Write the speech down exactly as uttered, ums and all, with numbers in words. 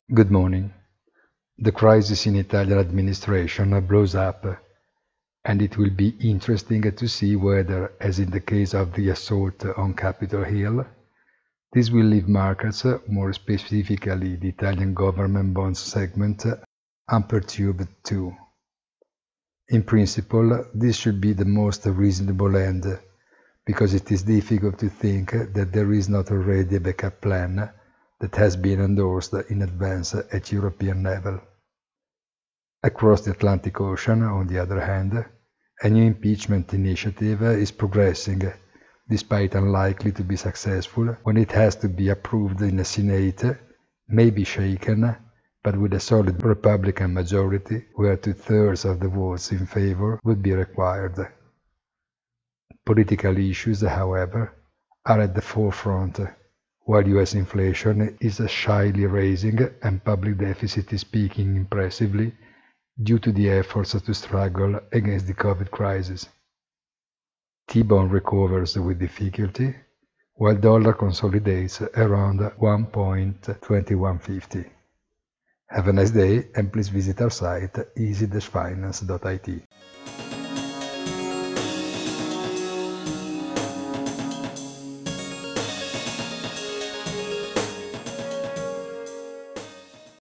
Good morning. The crisis in Italian administration blows up, and it will be interesting to see whether, as in the case of the assault on Capitol Hill, this will leave markets, more specifically the Italian government bonds segment, unperturbed too. In principle, this should be the most reasonable end, because it is difficult to think that there is not already a backup plan that has been endorsed in advance at European level. Across the Atlantic Ocean, on the other hand, a new impeachment initiative is progressing, despite unlikely to be successful when it has to be approved in the Senate, may be shaken, but with a solid Republican majority where two-thirds of the votes in favor would be required. Political issues, however, are at the forefront, while U S inflation is shyly rising and public deficit is peaking impressively due to the efforts to struggle against the COVID crisis. T-bond recovers with difficulty, while dollar consolidates around one point two one five zero. Have a nice day and please visit our site easy dash finance dot I T.